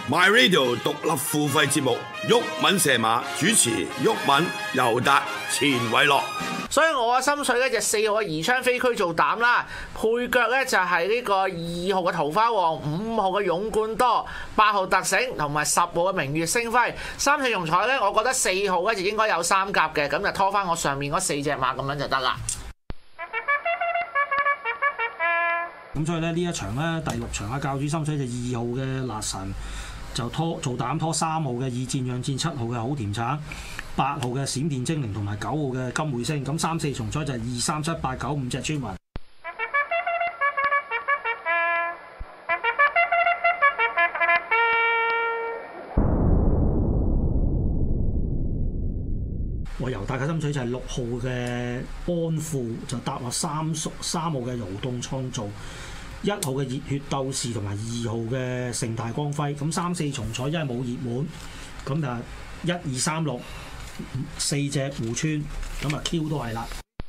My Radio 獨立付費節目，毓民射馬主持，毓民、尤達、錢偉樂。 所以我嘅心水咧就4號嘅宜昌飛區做膽啦，配腳咧就係呢個2號嘅桃花旺、5號嘅勇冠多、8號特醒同埋10號嘅明月星輝。三四重彩咧，我覺得4號咧就應該有3甲嘅，咁就拖翻我上面嗰4隻馬咁樣就得啦。 咁所以咧呢一場咧第6場啊，教主心水就2號嘅辣神就做膽拖3號嘅以戰養戰、7號嘅好甜橙、8號嘅閃電精靈同埋9號嘅金匯星。咁3、4重彩就係2、3、7、8、9、5隻村民。我猶大嘅心水就係6號嘅安富，就搭落3號嘅勞動創造，1號嘅熱血鬥士同埋2號嘅盛大光輝。咁3、4重彩因為冇熱門，咁就1、2、3、6 4隻互村，咁啊 Q 都係啦。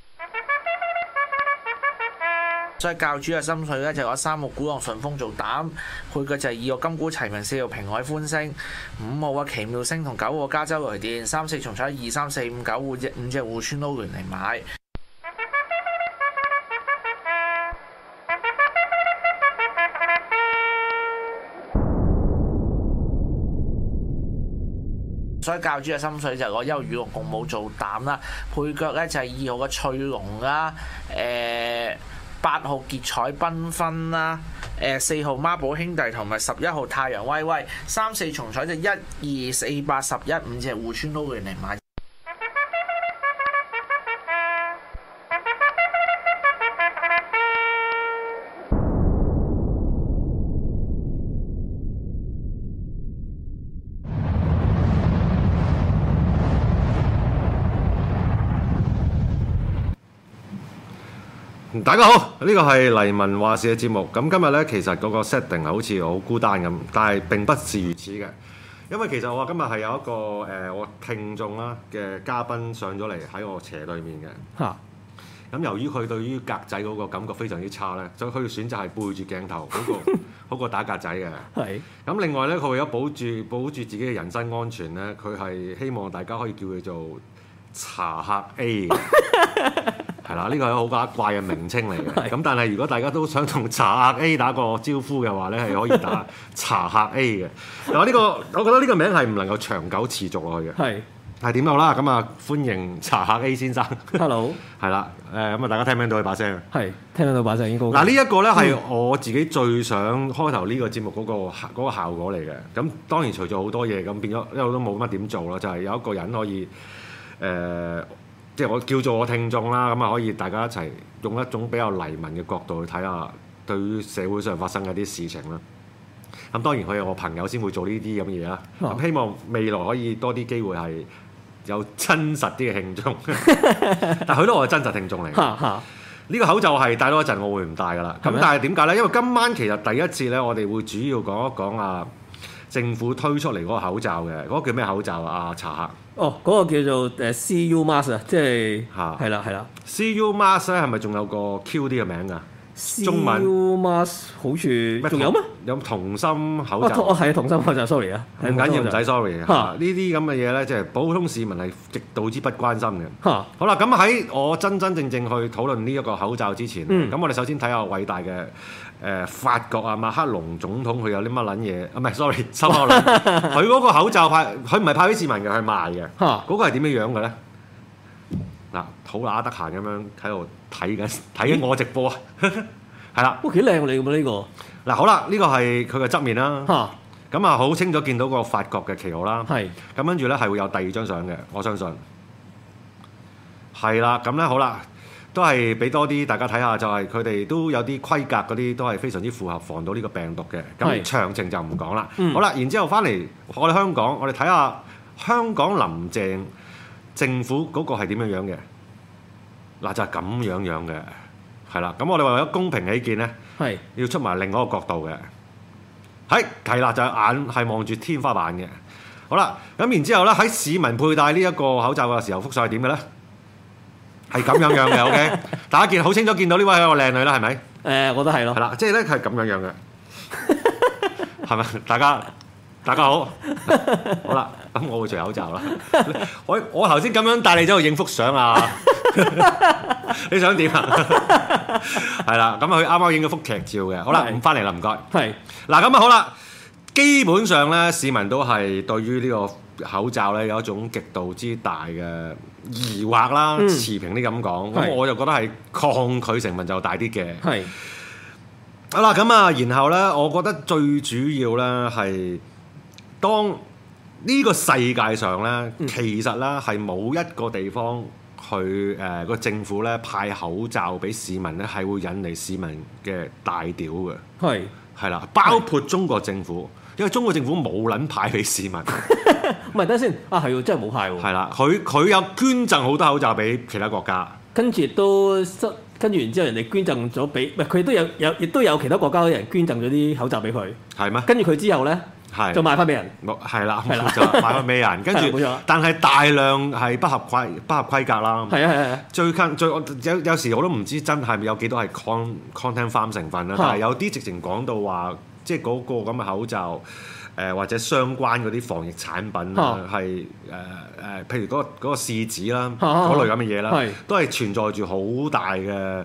所以教主嘅心水咧就有3號古浪順風做膽，配腳就係2號金鼓齊鳴、4號平海歡星、5號嘅奇妙星同9號加州雷電。3、4重彩2、3、4、5、9 5隻互村撈聯嚟買。所以教主嘅心水就係攞1號與龍共舞做膽啦，配腳咧就係2號嘅翠龍啦，8號傑彩繽紛啦，4號孖寶兄弟同埋11號太陽威威。3、4重彩就1、2、4、8、11 5隻互村撈聯嚟買。 大家好，呢個係黎民話事嘅節目。咁今日呢，其實嗰個 setting 係好似好孤單咁，但係並不是如此嘅。因為其實我今日係有一個我聽眾啦嘅嘉賓上咗嚟喺我斜對面嘅。嚇！咁由於佢對於格仔嗰個感覺非常之差呢，所以佢選擇係背住鏡頭好過打格仔嘅。係。咁另外呢，佢為咗保住自己嘅人身安全呢，佢係希望大家可以叫佢做茶客 A。係啦，呢個係好假怪嘅名稱嚟嘅。咁但係如果大家都想同茶客 A 打個招呼嘅話咧，係可以打茶客 A 嘅。嗱，呢個我覺得呢個名係唔能夠長久持續落去嘅。係點好啦？咁啊，歡迎茶客 A 先生。Hello。係啦，咁啊，大家聽唔聽到佢把聲？係聽到把聲已經高。嗱，呢一個咧係我自己最想開頭呢個節目嗰個效果嚟嘅。咁當然除咗好多嘢，咁變咗一路都冇乜點做啦，就係有一個人可以即係我叫做我聽眾啦，咁啊可以大家一齊用一種比較黎民嘅角度去睇下對於社會上發生嘅啲事情啦。咁當然佢係我朋友先會做呢啲咁嘅嘢啦。咁希望未來可以多啲機會係有真實啲嘅聽眾，但係佢都係真實聽眾嚟嘅。呢個口罩係戴多一陣，我會唔戴㗎啦。咁但係點解咧？因為今晚其實第一節咧，我哋會主要講一講政府推出嚟嗰個口罩嘅，嗰個叫咩口罩啊？茶客。 哦，嗰、那個叫做CU Mask 啊，即係係啦。 CU Mask 咧係咪仲有個 Q 啲嘅名㗎？中文 CU Mask 好似仲有咩？ 有童心口罩。 係童心口罩 ，sorry 啊， 唔緊要，唔使 sorry 啊。呢啲咁嘅嘢咧，即係普通市民係極度之不關心嘅。好啦，咁喺我真正去討論呢一個口罩之前，咁我哋首先睇下偉大嘅法國啊，馬克龍總統佢有啲乜撚嘢？唔係 sorry，收口啦。佢嗰個口罩佢唔係派俾市民嘅，係賣嘅。嗰個係點樣樣嘅咧？嗱，好乸得閒咁樣喺度睇緊我直播啊，係啦。 哇，幾靚喎你咁呢個？ 嗱，好啦，呢個係佢嘅側面啦。咁啊，好清楚見到個法國嘅旗號啦。係。咁跟住咧係會有第2張相嘅，我相信。係啦，咁咧好啦，都係俾多啲大家睇下，就係佢哋都有啲規格嗰啲都係非常之符合防到呢個病毒嘅。咁詳情就唔講啦。好啦，然之後翻嚟我哋香港，我哋睇下香港林鄭政府嗰個係點樣樣嘅？嗱，就係咁樣嘅，係啦。咁我哋為咗公平起見咧，要出埋另外一個角度嘅，係啦，就係眼係望住天花板嘅。好啦，咁然之後咧喺市民佩戴呢一個口罩嘅時候，幅相係點嘅咧？係咁樣嘅，OK。大家好清楚見到呢位係一個靚女啦，係咪？ 我覺得係咯。 係啦，即係咧係咁樣嘅，係咪？大家大家好，好啦，咁我會除口罩啦。我頭先咁樣帶你走去影幅相啊，你想點啊？係啦，咁佢啱啱影咗幅劇照嘅。好啦，咁翻嚟啦，唔該。 係嗱，咁啊好啦，基本上咧，市民都係對於呢個口罩咧有一種極度之大嘅疑惑啦，持平啲咁講。咁我就覺得係抗拒成分就大啲嘅。 係。 好啦，咁啊，然後咧，我覺得最主要咧係當呢個世界上咧，其實咧係冇一個地方去個政府咧派口罩俾市民咧，係會引嚟市民嘅大屌嘅。係啦，包括中國政府，因為中國政府冇撚派俾市民。 唔係等先啊，係喎，真係冇派喎。 係啦，佢有捐贈好多口罩俾其他國家， 跟住跟住然之後，人哋捐贈咗俾，唔係佢亦都有其他國家嘅人捐贈咗啲口罩俾佢。係咩？跟住佢之後咧，就賣翻俾人。係啦，就賣翻俾人。跟住，但係大量係不合規格啦。係啊。有時我都唔知真係咪有幾多係 content farm 成分啦。但係有啲直情講到話，即係嗰個咁嘅口罩。或者相關嗰啲防疫產品啦，係譬如嗰個試紙啦，嗰類咁嘅嘢啦，都係存在住好大嘅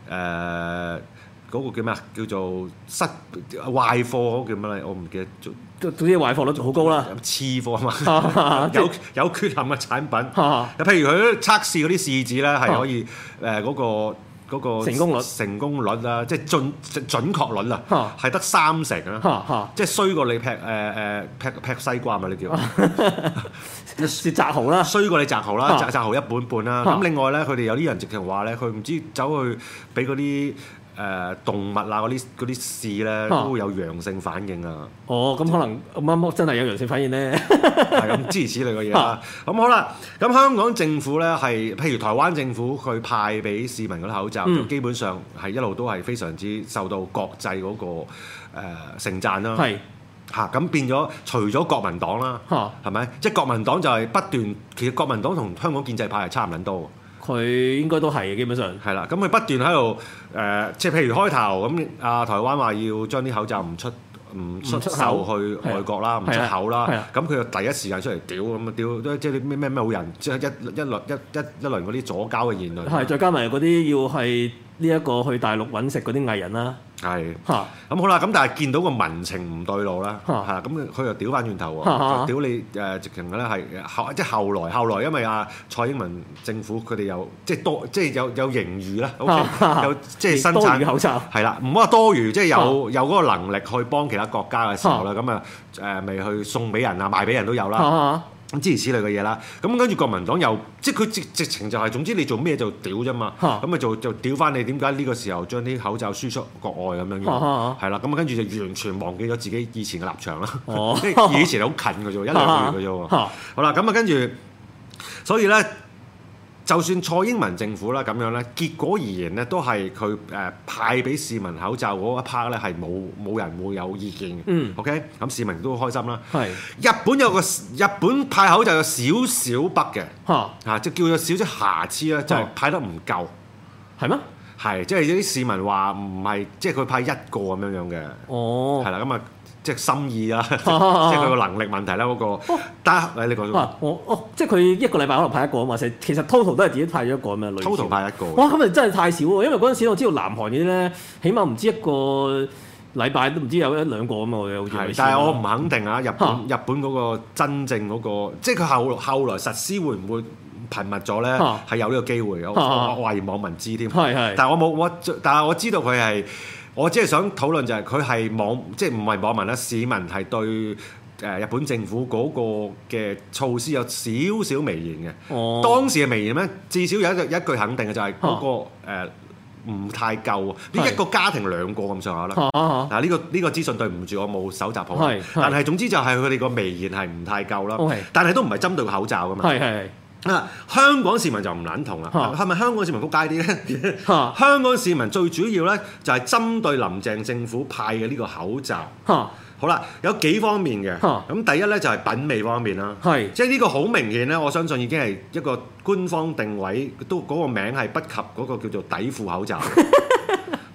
嗰個叫咩啊？叫做壞貨嗰個叫乜咧？我唔記得。總之壞貨率好高啦。 次貨啊嘛，有缺陷嘅產品。譬如佢測試嗰啲試紙咧，係可以嗰個成功率啦，即係準確率啊，係得30%啊，即係衰過你劈西瓜嘛？你叫是摘蠔啦， 衰過你摘蠔啦，摘蠔一半半啦。咁另外咧，佢哋有啲人直情話咧，佢唔知走去俾嗰啲動物啊嗰啲試咧，都會有陽性反應啊。哦，咁可能啱真係有陽性反應咧。係咁諸如此類嘅嘢啦。咁好啦，咁香港政府咧係，譬如台灣政府佢派俾市民嗰啲口罩，就基本上係一路都係非常之受到國際嗰個盛讚啦。係嚇，咁變咗除咗國民黨啦，係咪？即係國民黨就係不斷，其實國民黨同香港建制派係差唔撚多。佢應該都係基本上係啦，咁佢不斷喺度即係譬如開頭咁，台灣話要將啲口罩唔出售去外國啦，唔出口啦，咁佢就第一時間出嚟屌咁啊屌，即係啲咩好人，即係一輪嗰啲左膠嘅言論，係再加埋嗰啲要係呢一個去大陸揾食嗰啲藝人啦。係嚇，咁好啦，咁但係見到個民情唔對路啦，係咁佢又屌翻轉頭喎，屌你直情咧係即係後來，因為蔡英文政府佢哋又即係有盈餘啦，有即係生產口罩，係啦，唔好話多餘，即係有嗰個能力去幫其他國家嘅時候咧，咁咪去送俾人啊，賣俾人都有啦。咁諸如此類嘅嘢啦，咁跟住國民黨又即係佢直情就係總之你做咩就屌啫嘛，咁咪就屌翻你點解呢個時候將啲口罩輸出國外咁樣樣，係啦，咁啊跟住就完全忘記咗自己以前嘅立場啦，即係以前好近嘅啫喎，一兩個月嘅啫喎，好啦，咁啊跟住，所以咧。就算蔡英文政府啦咁樣咧，結果而言咧，都係佢派俾市民口罩嗰一 part 咧係冇人會有意見嘅。OK， 咁市民都開心啦。係日本派口罩有少少北嘅，即係叫做少少瑕疵啦，就係派得唔夠。係咩？係即係有啲市民話唔係，即係佢派一個咁樣樣嘅。哦，係啦，咁啊。即係心意啦，即係佢個能力問題啦嗰個。但係你講即係佢一個禮拜可能派一個啊嘛，其實 total 都係自己派咗一個咁樣。total 派一個。哇！咁咪真係太少喎，因為嗰陣時我知道南韓嗰啲咧，起碼唔知一個禮拜都唔知有一兩個咁啊，好似。係，但係我唔肯定啊，日本嗰個真正嗰個，即係佢後來實施會唔會頻密咗咧？係有呢個機會，我懷疑網民知添。係。但係但係我知道佢係。我只係想討論就係佢係即係唔係網民啦，市民係對日本政府嗰個嘅措施有少少微言嘅。哦，當時嘅微言咧，至少有一句肯定嘅就係嗰個唔太夠，呢一個家庭兩個咁上下啦。嗱呢個資訊對唔住，我冇搜集好。但係總之就係佢哋個微言係唔太夠啦。但係都唔係針對個口罩㗎嘛。香港市民就唔撚同啦，係咪香港市民撲街啲咧？香港市民最主要咧就係針對林鄭政府派嘅呢個口罩。好啦，有幾方面嘅。咁第一咧就係品味方面啦，即係呢個好明顯咧，我相信已經係一個官方定位，都嗰個名係不及嗰個叫做底褲口罩。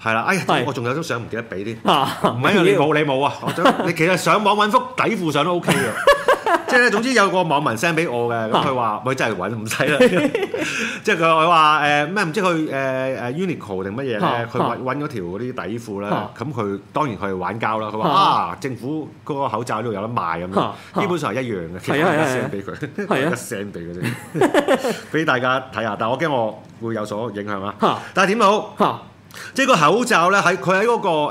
係啦，我仲有張相唔記得俾啲，唔係你冇啊，你其實上網揾幅底褲相都 OK 嘅。即係咧，總之有個網民 send 俾我嘅，咁佢話：佢真係揾唔使啦。即係佢話咩唔知佢Uniqlo 定乜嘢咧？佢揾嗰條嗰啲底褲咧，咁佢當然佢係玩膠啦。佢話政府嗰個口罩呢度有得賣咁樣，基本上係一樣嘅。其實我 send 俾佢，一 send 俾佢啫，俾大家睇下。但係我驚我會有所影響啊。但係點都好，即係個口罩咧，佢喺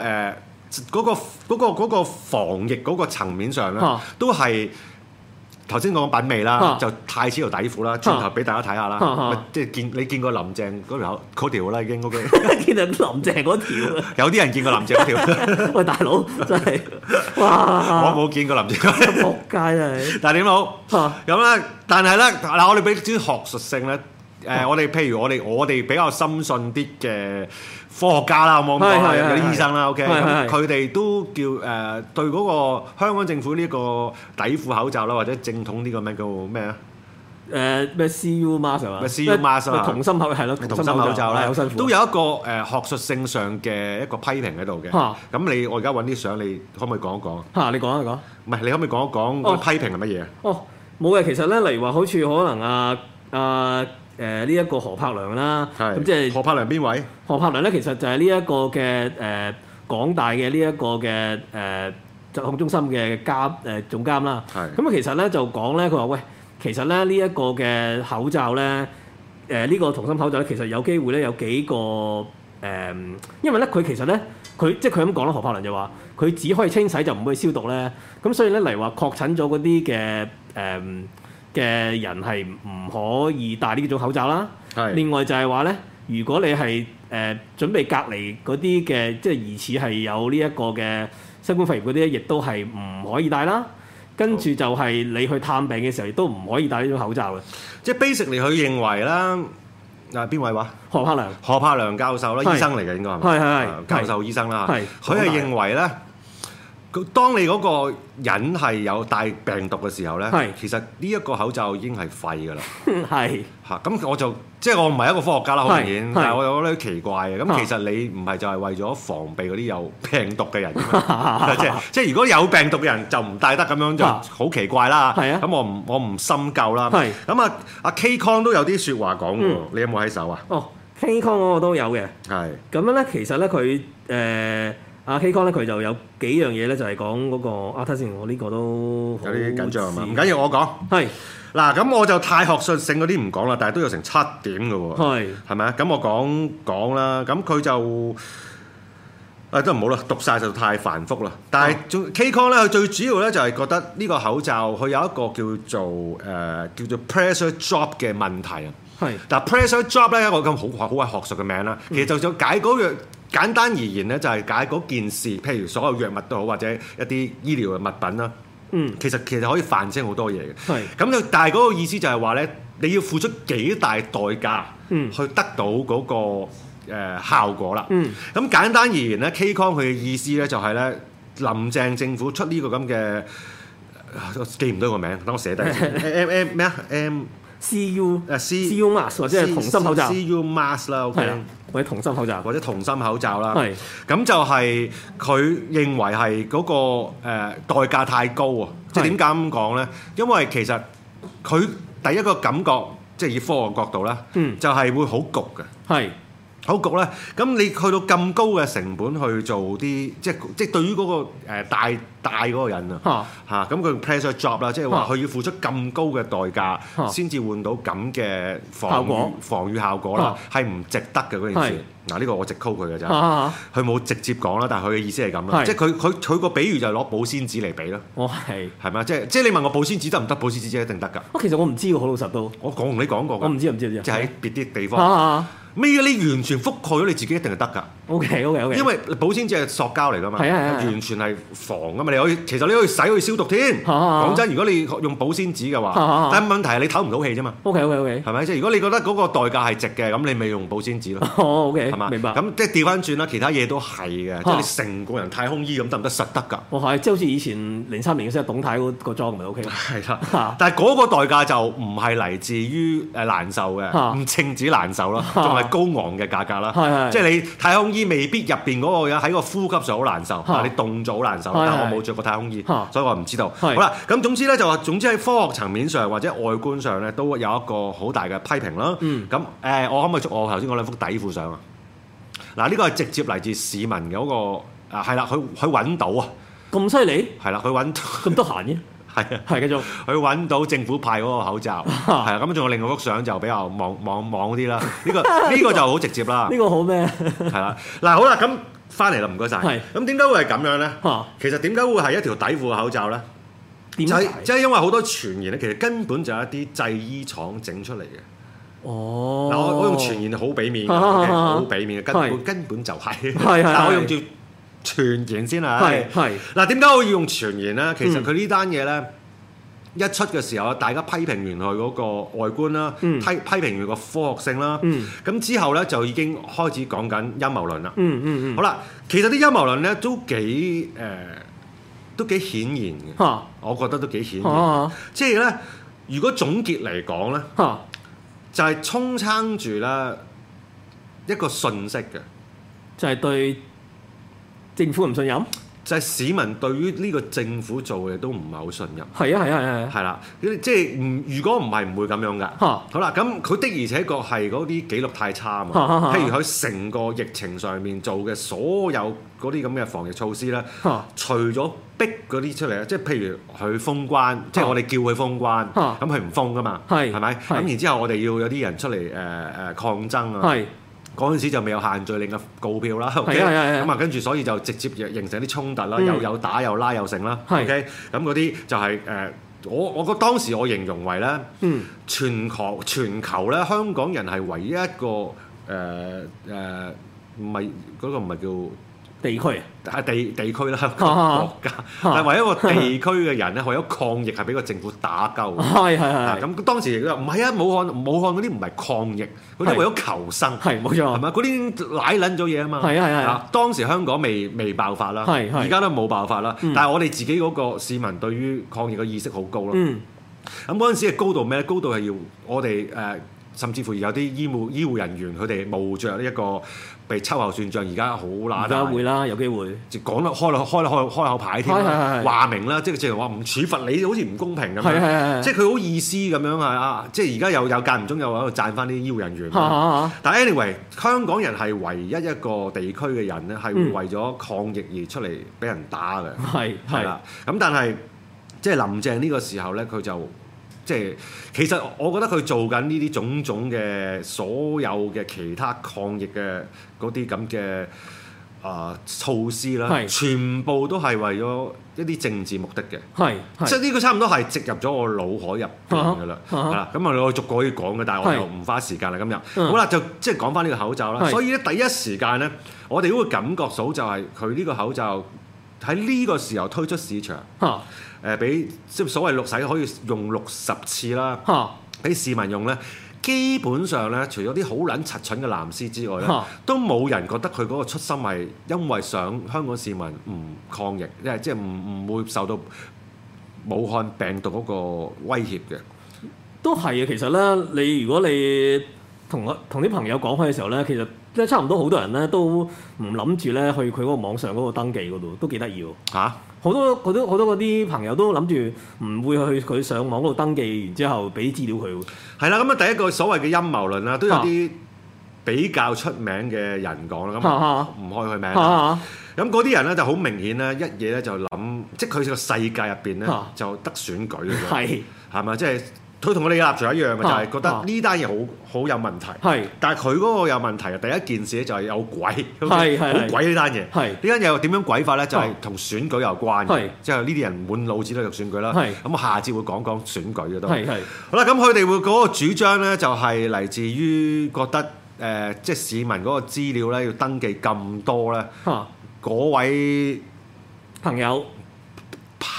嗰個防疫嗰個層面上咧，都係。頭先講品味啦，就太似條底褲啦，轉頭俾大家睇下啦。即係你見過林鄭嗰條啦，已經 OK。 見到林鄭嗰條， 有啲人見過林鄭嗰條。 喂，大佬真係，哇！ 我冇見過林鄭嗰條。 仆街啊你！ 但係點好？咁咧，但係咧嗱，我哋俾啲學術性咧，我哋譬如我哋比較深信啲嘅科學家啦，冇咁講，有啲醫生啦 ，OK，咁佢哋都叫對嗰個香港政府呢個底褲口罩啦，或者正統呢個咩叫咩啊？ 咩 CU mask 啊？ 咩 CU mask 啊？ 同心口係咯， 同心口罩咧， 好辛苦。 都有一個學術性上嘅一個批評喺度嘅。咁我而家揾啲相，你可唔可以講一講？ 你講一講。 唔係，你可唔可以講一講個批評係乜嘢啊？ 冇嘅，其實咧，例如話好似可能呢一個何柏良啦，咁即係何柏良邊位？ 何柏良咧，其實就係呢一個嘅港大嘅呢一個嘅疾控中心嘅總監啦。咁啊，其實咧就講咧，佢話喂，其實咧呢一個嘅口罩咧，呢個同心口罩咧，其實有機會咧有幾個因為咧佢其實咧佢咁講啦，何柏良就話佢只可以清洗就唔可以消毒咧，咁所以咧嚟話確診咗嗰啲嘅人係唔可以戴呢種口罩啦。另外就係話咧，如果你係準備隔離嗰啲嘅，即係疑似係有呢一個嘅新冠肺炎嗰啲，亦都係唔可以戴啦。跟住就係你去探病嘅時候，亦都唔可以戴呢種口罩嘅。即係 basically 佢認為啦，邊位話？ 何柏良教授啦，醫生嚟嘅應該係教授醫生啦。佢係認為咧。當你嗰個人係有帶病毒嘅時候咧，其實呢一個口罩已經係廢㗎啦。咁我就即係我唔係一個科學家啦，好明顯，但係我有啲奇怪嘅。咁其實你唔係就係為咗防備嗰啲有病毒嘅人，即係如果有病毒嘅人就唔戴得，咁樣就好奇怪啦。咁我唔深究啦。咁阿 K Con 都有啲説話講喎，你有冇喺手啊 ？K Con 嗰個都有嘅。 咁樣咧，其實咧佢阿 K 康咧，佢就有幾樣嘢咧，就係講嗰個睇先，我呢個都有啲緊張係嘛？唔緊要，我講。嗱，咁我就太學術性嗰啲唔講啦，但係都有成7點嘅喎。係咪啊？咁我講啦。咁佢就都唔好啦，讀晒就太繁複啦。但係K 康咧，佢最主要咧就係覺得呢個口罩佢有一個叫做 pressure drop 嘅問題啊。但 pressure drop 咧一個咁好鬼學術嘅名啦，其實就想解嗰樣。簡單而言咧，就係解嗰件事，譬如所有藥物都好，或者一啲醫療嘅物品啦。其實可以泛稱好多嘢嘅。咁但係嗰個意思就係話咧，你要付出幾大代價去得到嗰個效果啦。咁簡單而言咧，K 康佢嘅意思咧就係咧，林鄭政府出呢個咁嘅，記唔到個名，等我寫低先。咩啊 ？CU mask 或者係同心口罩。 CU mask 啦，OK。 或者同心口罩， 或者同心口罩啦。咁就係佢認為係嗰個代價太高啊！即係點解咁講咧？因為其實佢第一個感覺，即係以科學角度啦，就係會好焗嘅。好焗咧，咁你去到咁高嘅成本去做啲，即係對於嗰個戴嗰個人啊，咁佢 pressure job 啦，即係話佢要付出咁高嘅代價先至換到咁嘅防禦效果啦，係唔值得嘅嗰件事。嗱，呢個我直 call 佢嘅咋，佢冇直接講啦，但係佢嘅意思係咁啦，即係佢個比喻就係攞保鮮紙嚟比啦。係咪？即係你問我保鮮紙得唔得？保鮮紙一定得㗎。 其實我唔知喎，好老實都。 我同你講過㗎。 我唔知。即係喺別啲地方。咩？你完全覆蓋咗你自己一定係得㗎。 OK。 因為保鮮紙係塑膠嚟㗎嘛，完全係防㗎嘛。 你可以其實你可以洗去消毒添。講真，如果你用保鮮紙嘅話，但係問題係你唞唔到氣啫嘛。OK，係咪？即係如果你覺得嗰個代價係值嘅，咁你咪用保鮮紙咯。 OK， 係嘛？ 明白。 咁即係調翻轉啦，其他嘢都係嘅，即係你成個人太空衣咁得唔得？實得㗎。 係，即係好似以前03年嘅時候，董太嗰個裝咪 OK。 係啦，但係嗰個代價就唔係嚟自於難受嘅，唔淨止難受啦，仲係高昂嘅價格啦。即係你太空衣未必入邊嗰個人喺個呼吸上好難受，你凍咗好難受。但我冇着過太空衣，所以我唔知道。好啦，咁總之咧就話，總之喺科學層面上或者外觀上咧，都有一個好大嘅批評啦。咁我可唔可以捉我頭先嗰兩幅底褲相啊？嗱，呢個係直接嚟自市民嘅嗰個係啦，佢揾到啊！ 咁犀利？係啦，佢揾咁得閒嘅。係繼續， 佢揾到政府派嗰個口罩，係啊，咁仲有另外幅相就比較網啲啦。呢個就好直接啦。呢個好咩？ 係啦，嗱好啦，咁翻嚟啦，唔該晒。咁點解會係咁樣咧？其實點解會係一條底褲嘅口罩咧？就係因為好多傳言咧，其實根本就係一啲製衣廠整出嚟嘅。 哦， 嗱我用傳言好俾面嘅，好俾面嘅，根本就係。但我用住傳言先啊，嗱，點解我要用傳言咧？其實佢呢單嘢咧一出嘅時候，大家批評完佢嗰個外觀啦，批評完個科學性啦，咁之後咧就已經開始講緊陰謀論啦。好啦，其實啲陰謀論咧都幾顯然嘅，我覺得都幾顯然。即係咧，如果總結嚟講咧，就係充撐住咧一個訊息嘅， 就係對政府唔信任， 就係市民對於呢個政府做嘅都唔係好信任。 係啦，即係如果唔係唔會咁樣㗎。好啦，咁佢的而且確係嗰啲記錄太差啊嘛。譬如佢成個疫情上面做嘅所有嗰啲咁嘅防疫措施咧，除咗逼嗰啲出嚟，即係譬如佢封關，即係我哋叫佢封關，咁佢唔封㗎嘛，係咪？咁然之後我哋要有啲人出嚟抗爭啊。嗰陣時就未有限聚令嘅告票啦，OK，咁啊跟住所以就直接形成啲衝突啦，有打有拉有成啦，OK，咁嗰啲就係我覺得當時我形容為咧，全球咧香港人係唯一一個唔係嗰個唔係叫地區啊，地區啦，國家，但係唯一一個地區嘅人咧，為咗抗疫係俾個政府打鳩。咁當時唔係啊，武漢嗰啲唔係抗疫，嗰啲為咗求生。係冇錯，係咪？嗰啲奶撚咗嘢啊嘛。係。當時香港未爆發啦，而家都冇爆發啦。但係我哋自己嗰個市民對於抗疫嘅意識好高咯。咁嗰陣時嘅高度咩咧？高度係要我哋甚至乎有啲醫護人員佢哋冒着呢一個被秋後算賬，而家好乸大。而家會啦，有機會。 就講得開口牌添，話明啦，即係直情話唔處罰你，好似唔公平咁樣。即係佢好意思咁樣啊！即係而家有間唔中又喺度讚翻啲醫護人員。但係 anyway，香港人係唯一一個地區嘅人咧，係會為咗抗疫而出嚟俾人打嘅。係啦，咁但係即係林鄭呢個時候咧，佢就。即係其實我覺得佢做緊呢啲種種嘅所有嘅其他抗疫嘅嗰啲咁嘅措施啦，全部都係為咗一啲政治目的嘅。即係呢個差唔多係植入咗我腦海入邊㗎啦。係啦，咁我逐個可以講嘅，但係我又唔花時間啦今日。好啦，就即係講翻呢個口罩啦。所以咧第一時間咧，我哋都會感覺到就係佢呢個口罩喺呢個時候推出市場。俾即係所謂綠洗可以用60次啦，俾市民用咧，基本上咧，除咗啲好撚柒蠢嘅藍絲之外咧，都冇人覺得佢嗰個初心係因為想香港市民唔抗疫，即係唔會受到武漢病毒嗰個威脅嘅。都係啊，其實咧，如果你同啲朋友講開嘅時候咧，其實即係差唔多好多人咧都唔諗住咧去佢嗰個網上嗰個登記嗰度，都幾得意喎嚇！好多嗰啲朋友都諗住唔會去佢上網嗰度登記，然之後俾資料佢。係啦，咁啊第一個所謂嘅陰謀論啦，都有啲比較出名嘅人講啦，咁唔開佢名。咁嗰啲人咧就好明顯咧，一嘢咧就諗，即係佢個世界入邊咧就得選舉嘅啫，係咪？即係。佢同我哋嘅立場一樣嘅，就係覺得呢單嘢好有問題。但係佢嗰個有問題嘅第一件事咧就係有鬼，好鬼呢單嘢。呢單嘢又點樣鬼法咧？就係同選舉有關嘅，即係呢啲人滿腦子都係選舉啦。咁我下節會講選舉嘅都。好啦，咁佢哋會嗰個主張咧，就係嚟自於覺得即係市民嗰個資料咧要登記咁多咧，嗰位朋友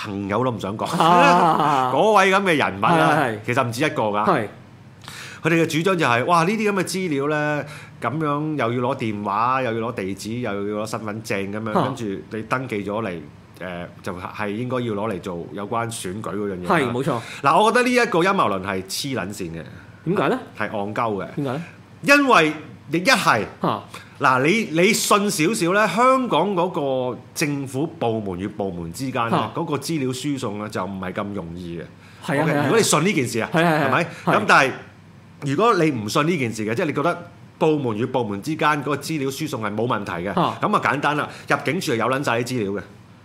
朋友都唔想講。嗰位咁嘅人物啊，其實唔止一個㗎。佢哋嘅主張就係：哇！呢啲咁嘅資料咧，咁樣又要攞電話，又要攞地址，又要攞身份證咁樣，跟住你登記咗嚟。就係應該要攞嚟做有關選舉嗰樣嘢。係冇錯。嗱，我覺得呢一個陰謀論係黐撚線嘅。點解咧？係戇鳩嘅。點解咧？因為亦一係嗱，你信少少咧，香港嗰個政府部門與部門之間咧，嗰個資料輸送咧就唔係咁容易嘅。係啊。如果你信呢件事啊，係咪？咁但係如果你唔信呢件事嘅，即係你覺得部門與部門之間嗰個資料輸送係冇問題嘅，咁啊簡單啦，入境處係有撚晒啲資料嘅。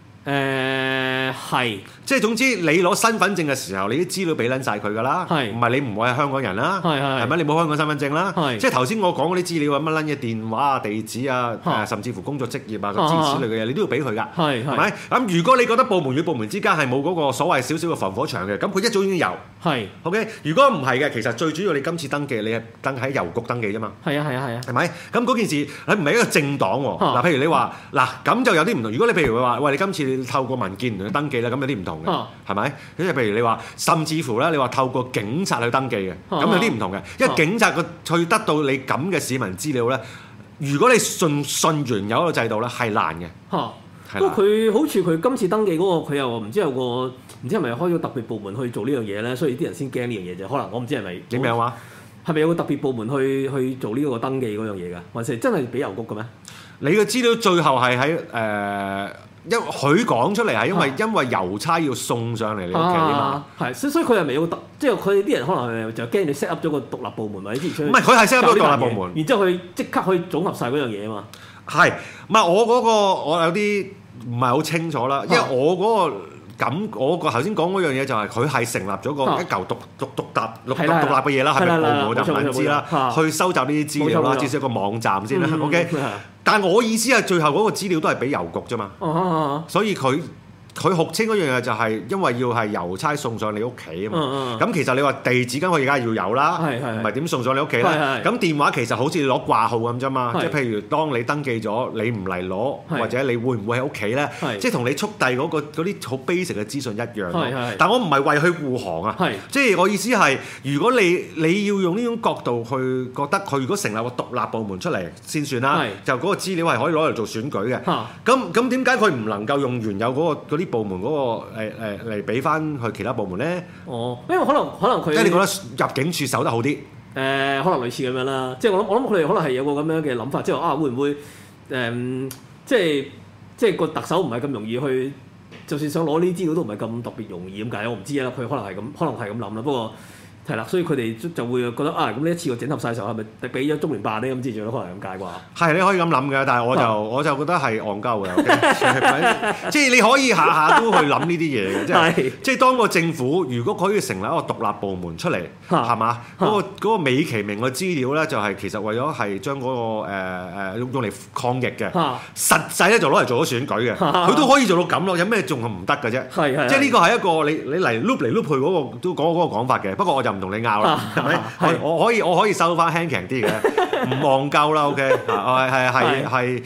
係，即係總之你攞身份證嘅時候，你啲資料俾撚晒佢㗎啦，唔係你唔會係香港人啦，係咪？你冇香港身份證啦，即係頭先我講嗰啲資料啊，乜撚嘢電話啊、地址啊，甚至乎工作職業啊、諸如此類嘅嘢，你都要俾佢㗎，係咪？咁如果你覺得部門與部門之間係冇嗰個所謂少少嘅防火牆嘅，咁佢一早已經有，係 OK。如果唔係嘅，其實最主要你今次登記，你係登喺郵局登記啫嘛，係啊，係咪？咁嗰件事你唔係一個政黨喎，嗱，譬如你話嗱，咁就有啲唔同。如果你譬如話，喂，你今次透過民建聯去登記咧，咁有啲唔同嘅，係咪？即係譬如你話，甚至乎咧，你話透過警察去登記嘅，咁有啲唔同嘅。因為警察去得到你咁嘅市民資料咧，如果你信原有一個制度咧，係難嘅。不過佢好似佢今次登記嗰個，佢又唔知有個唔知係咪開咗特別部門去做呢樣嘢咧，所以啲人先驚呢樣嘢啫。可能我唔知係咪點樣話？係咪有個特別部門去做呢個登記嗰樣嘢㗎？還是真係俾郵局嘅咩？你嘅資料最後係喺因為佢講出嚟係因為郵差要送上嚟你屋企啊嘛，係，所以佢係咪有個即係佢哋啲人可能就驚你 set up 咗個獨立部門或者之前唔係佢係 set up 咗獨立部門，然之後佢即刻可以總合晒嗰樣嘢啊嘛。係，唔係我嗰個我有啲唔係好清楚啦，因為我嗰個。咁我個頭先講嗰樣嘢就係佢係成立咗個一嚿獨立嘅嘢啦，係咪部門我就唔撚知啦，去收集呢啲資料啦，至少一個網站先啦，OK。但係我意思係最後嗰個資料都係俾郵局啫嘛，所以佢號稱嗰樣嘢就係因為要係郵差送上你屋企啊嘛，咁其實你話地址梗係而家要有啦，唔係點送上你屋企咧？咁電話其實好似你攞掛號咁啫嘛，即係譬如當你登記咗，你唔嚟攞，或者你會唔會喺屋企咧？即係同你速遞嗰啲好 basic 嘅資訊一樣。但我唔係為佢護航啊，即係我意思係，如果你要用呢種角度去覺得佢如果成立個獨立部門出嚟先算啦，就嗰個資料係可以攞嚟做選舉嘅。咁點解佢唔能夠用原有嗰啲部門嗰個嚟俾翻去其他部門咧？哦，因為可能佢即係你覺得入境處守得好啲？可能類似咁樣啦。即係我諗佢哋可能係有個咁樣嘅諗法，即係啊會唔會即係個特首唔係咁容易去，就算想攞呢啲資料都唔係咁特別容易咁解。我唔知啊，佢可能係咁諗啦。不過係啦，所以佢哋就會覺得啊，咁呢一次我整合晒嘅時候係咪俾咗中聯辦咧？咁之類都可能係咁解啩。係你可以咁諗嘅，但係我就覺得係戇鳩嘅。即係你可以下下都去諗呢啲嘢嘅，即係當個政府如果可以成立一個獨立部門出嚟，係嘛？嗰個美其名嘅資料咧，就係其實為咗係將嗰個用嚟抗疫嘅，實際咧就攞嚟做咗選舉嘅，佢都可以做到咁咯。有咩仲係唔得嘅啫？即係呢個係一個你嚟碌嚟碌去嗰個都講嗰個講法嘅。不過我就唔同你拗啦，係咪？我可以收翻輕強啲嘅，唔忘舊啦 ，OK， 係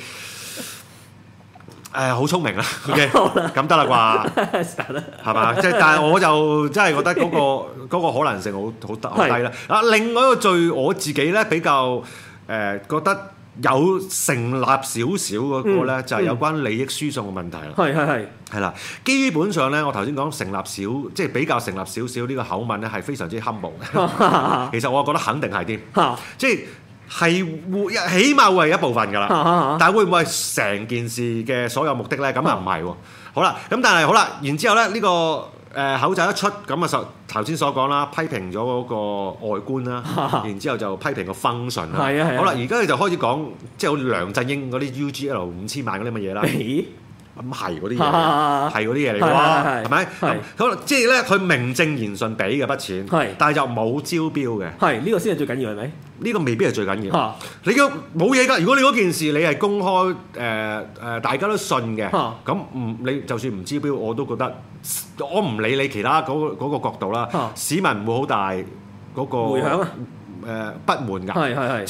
好聰明啦 ，OK， 咁得啦啩，係嘛？即係但係我就真係覺得嗰個可能性好低啦。另外一個我自己咧比較覺得有成立少少嗰個咧，就係有關利益輸送嘅問題啦。係啦，基本上咧，我頭先講成立即係比較成立少少呢個口吻咧，係非常之 humble 嘅。其實我覺得肯定係添，即係起碼會係一部分㗎啦。但係會唔會係成件事嘅所有目的咧？咁啊唔係喎。好啦，咁但係好啦，然之後咧呢個口罩一出，咁啊頭先所講啦，批評咗嗰個外觀啦，然之後就批評個 function 啦。好啦，而家你就開始講，即係好似梁振英嗰啲 UGL 5000萬嗰啲乜嘢啦。咁係嗰啲嘢，係嗰啲嘢嚟㗎，係咪？咁即係咧，佢名正言順俾嘅筆錢，但係就冇招標嘅。係呢個先係最緊要係咪？呢個未必係最緊要。你嘅冇嘢㗎。如果你嗰件事你係公開大家都信嘅，咁你就算唔招標，我都覺得我唔理你其他嗰個角度啦。市民唔會好大嗰個迴響不滿㗎。即係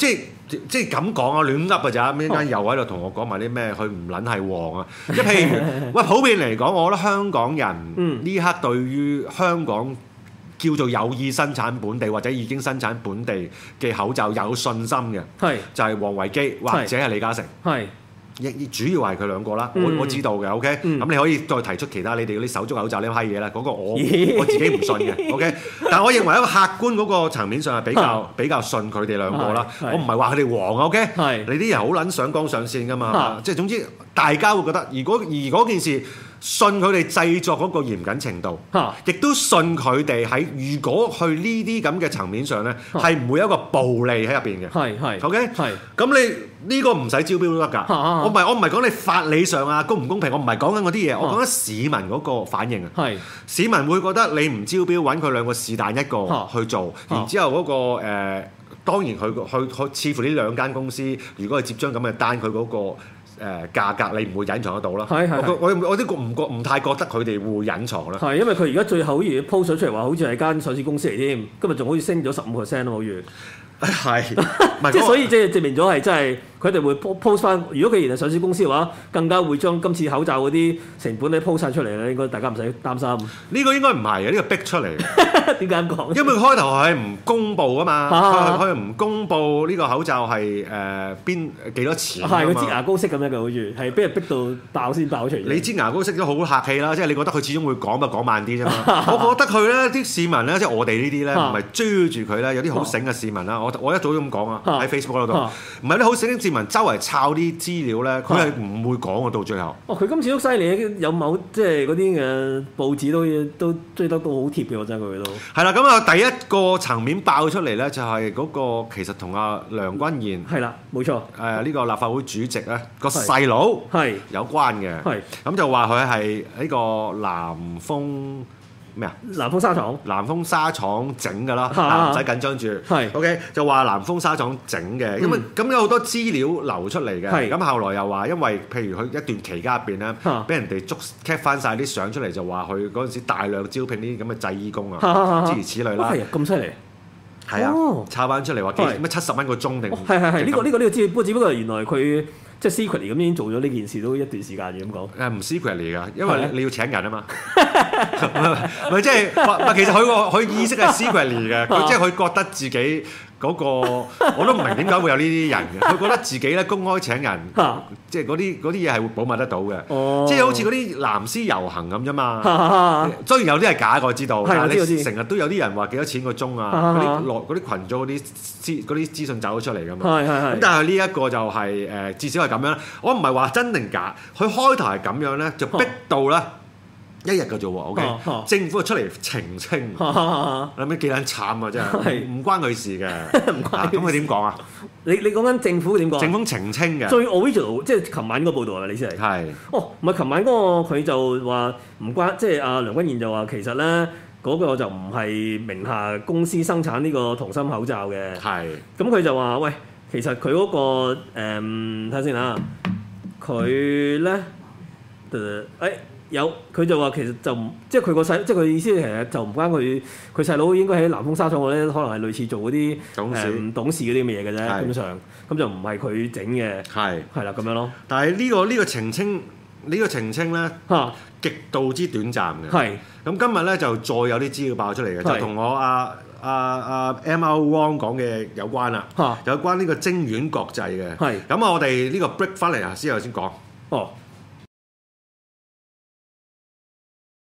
即係咁講啊，亂噏㗎咋，一陣間又喺度同我講埋啲咩，佢唔撚係黃啊！即係譬如喂，普遍嚟講，我覺得香港人呢刻對於香港叫做有意生產本地或者已經生產本地嘅口罩有信心嘅，就係王維基或者係李嘉誠。主要係佢兩個啦，我知道嘅 ，OK，咁你可以再提出其他你哋嗰啲手足口罩呢批嘢啦，嗰個我自己唔信嘅，OK，但係我認為一個客觀嗰個層面上係比較信佢哋兩個啦，我唔係話佢哋黃 ，OK，你啲人好撚上綱上線㗎嘛，即係總之大家會覺得，而嗰件事。信佢哋製作嗰個嚴謹程度，亦都信佢哋喺如果去呢啲咁嘅層面上咧，係唔會有一個暴利喺入邊嘅。OK，咁你呢個唔使招標都得㗎。我唔係講你法理上啊公唔公平，我唔係講緊嗰啲嘢，我講緊市民嗰個反應啊。市民會覺得你唔招標揾佢兩個是但一個去做，然之後嗰個當然佢似乎呢兩間公司如果係接張咁嘅單，佢嗰個。價格你唔會隱藏得到啦。我啲唔太覺得佢哋會隱藏啦。 因為佢而家最後好似 post 咗出嚟話，好似係間上市公司嚟添，今日仲好似升咗15%咯，好似。即係所以即係證明咗係真係佢哋會 post 翻。如果佢然係上市公司嘅話，更加會將今次口罩嗰啲成本咧 post 晒出嚟咧，應該大家唔使擔心。 呢個應該唔係嘅，呢個逼出嚟。 點解咁講？ 因為佢開頭係唔公佈啊嘛，佢唔公佈呢個口罩係幾多錢啊嘛。 佢擠牙膏式咁樣嘅，好似係俾人逼到爆先爆出嚟。 你擠牙膏式都好客氣啦，即係你覺得佢始終會講咪講慢啲啫嘛。我覺得佢咧啲市民咧，即係我哋呢啲咧，唔係追住佢咧，有啲好醒嘅市民啦。我一早都咁講啊，喺 Facebook 嗰度，唔係啲好醒嘅市民周圍抄啲資料咧，佢係唔會講嘅到最後。佢今次都犀利，有某即係嗰啲嘅報紙都追得到好貼嘅，我真係佢都。 係啦，咁啊第一個層面爆出嚟咧，就係嗰個其實同阿梁君彥係啦，冇錯， 呢個立法會主席咧個細佬係有關嘅，咁就話佢係呢個南豐咩啊？ 南豐紗廠， 南豐紗廠整㗎啦，唔使緊張住。OK， 就話南豐紗廠整嘅，因為咁有好多資料流出嚟嘅。咁後來又話，因為譬如佢一段期間入邊咧，俾人哋捉 cap 翻晒啲相出嚟，就話佢嗰陣時大量招聘呢啲咁嘅製衣工啊，諸如此類啦。 係啊，咁犀利。 係啊，抄翻出嚟話咩70蚊個鐘定？ 係呢個知，不過原來佢。即係 secretly 咁已經做咗呢件事都一段時間嘅咁講。 唔 secretly 㗎，因為你要請人啊嘛。咪即係其實佢意識係 secretly 嘅，即係佢覺得自己嗰個我都唔明點解會有呢啲人嘅。佢覺得自己咧公開請人，即係嗰啲嘢係會保密得到嘅。即係好似嗰啲藍絲遊行咁啫嘛。雖然有啲係假嘅，我知道，但係你成日都有啲人話幾多錢個鐘啊？嗰啲群組嗰啲資訊走咗出嚟㗎嘛。咁但係呢一個就係至少係咁樣。我唔係話真定假，佢開頭係咁樣咧，就逼到咧1日嘅啫喎。OK，政府就出嚟澄清，諗起幾撚慘啊！真係唔關佢事嘅。咁佢點講啊？ 你講緊政府點講？ 政府澄清嘅。 最 original 即係琴晚嗰個報導係咪？你先嚟。 係。 唔係琴晚嗰個佢就話唔關，即係阿梁君彥就話其實咧嗰個就唔係名下公司生產呢個童心口罩嘅。係。咁佢就話喂。其實佢嗰個睇下先嚇，佢咧有佢就話其實就唔即係佢個細，即係佢意思其實就唔關佢細佬應該喺南豐紗廠嗰咧，可能係類似做嗰啲董事嗰啲咁嘅嘢嘅啫，基本上咁就唔係佢整嘅，係啦咁樣咯。 但係呢個澄清咧極度之短暫嘅。係咁今日咧就再有啲資料爆出嚟嘅，就同我MR Wong 講嘅有關啦，有關呢個晶苑國際嘅。係咁我哋呢個 break 翻嚟啊，先講。